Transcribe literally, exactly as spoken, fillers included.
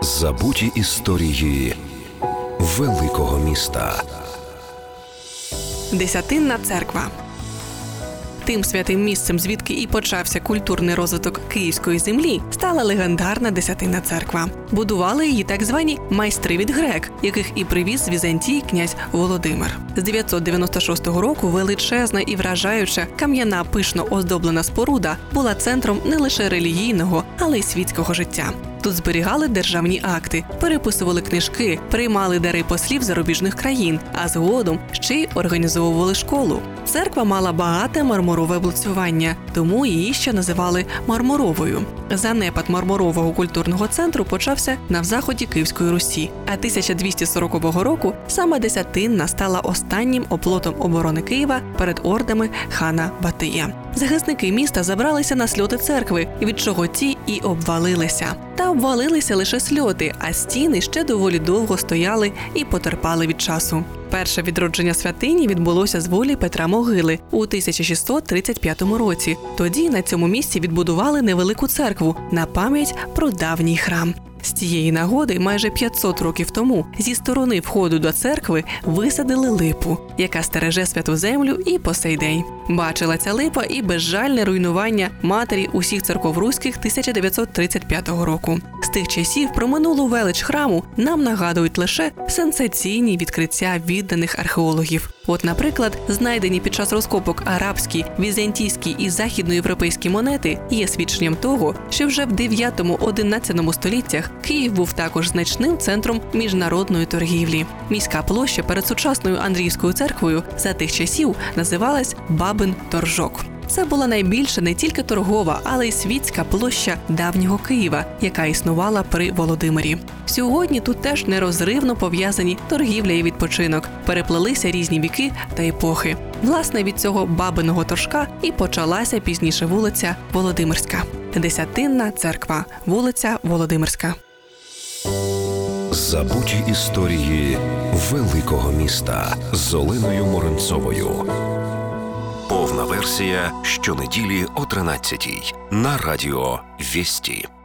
Забуті історії великого міста. Десятинна церква. Тим святим місцем, звідки і почався культурний розвиток київської землі, стала легендарна Десятинна церква. Будували її так звані майстри від грек, яких і привіз з Візантії князь Володимир. З дев'ятсот дев'яносто шостого року величезна і вражаюча кам'яна пишно оздоблена споруда була центром не лише релігійного, але й світського життя. Тут зберігали державні акти, переписували книжки, приймали дари послів зарубіжних країн, а згодом ще й організовували школу. Церква мала багате мармурове облицювання, тому її ще називали Мармуровою. Занепад Мармурового культурного центру почався на заході Київської Русі, а тисяча двісті сорокового року саме Десятинна стала останнім оплотом оборони Києва перед ордами хана Батия. Захисники міста забралися на сльоти церкви, від чого ті і обвалилися. Та обвалилися лише сльоти, а стіни ще доволі довго стояли і потерпали від часу. Перше відродження святині відбулося з волі Петра Могили у тисяча шістсот тридцять п'ятому році. Тоді на цьому місці відбудували невелику церкву на пам'ять про давній храм. З цієї нагоди майже п'ятсот років тому зі сторони входу до церкви висадили липу, яка стереже святу землю і по сей день. Бачила ця липа і безжальне руйнування матері усіх церков руських тисяча дев'ятсот тридцять п'ятого року. З тих часів про минулу велич храму нам нагадують лише сенсаційні відкриття відданих археологів. От, наприклад, знайдені під час розкопок арабські, візантійські і західноєвропейські монети є свідченням того, що вже в дев'ятому-одинадцятому століттях Київ був також значним центром міжнародної торгівлі. Міська площа перед сучасною Андріївською церквою за тих часів називалась Бабин торжок. Це була найбільша не тільки торгова, але й світська площа давнього Києва, яка існувала при Володимирі. Сьогодні тут теж нерозривно пов'язані торгівля і відпочинок, переплелися різні віки та епохи. Власне, від цього Бабиного торжка і почалася пізніше вулиця Володимирська. Десятинна церква, вулиця Володимирська. Забуті історії великого міста з Оленою Моренцовою. Повна версія щонеділі о тринадцятій на радіо Вісті.